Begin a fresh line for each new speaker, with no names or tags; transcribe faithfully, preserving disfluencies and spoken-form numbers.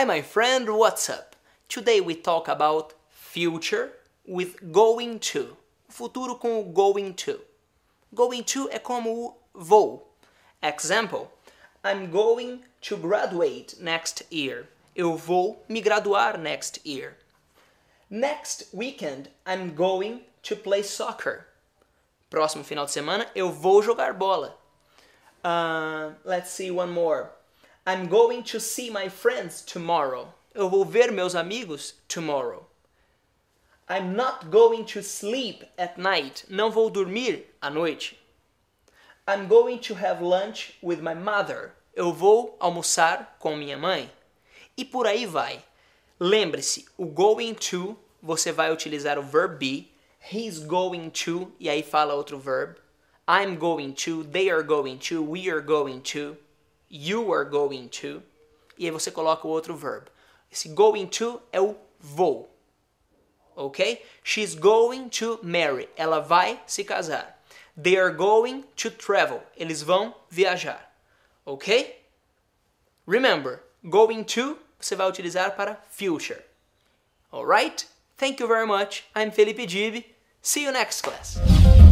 Hi my friend, what's up? Today we talk about future with going to. Futuro com o going to. Going to é como o vou. Example, I'm going to graduate next year. Eu vou me graduar next year. Next weekend, I'm going to play soccer. Próximo final de semana, eu vou jogar bola. Uh, let's see one more. I'm going to see my friends tomorrow. Eu vou ver meus amigos tomorrow. I'm not going to sleep at night. Não vou dormir à noite. I'm going to have lunch with my mother. Eu vou almoçar com minha mãe. E por aí vai. Lembre-se, o going to, você vai utilizar o verb be. He's going to, e aí fala outro verb. I'm going to, they are going to, we are going to, you are going to. E aí você coloca o outro verb. Esse going to é o vou. Ok? She's going to marry. Ela vai se casar. They are going to travel. Eles vão viajar. Ok? Remember, going to você vai utilizar para future. Alright? Thank you very much. I'm Felipe Gibi. See you next class.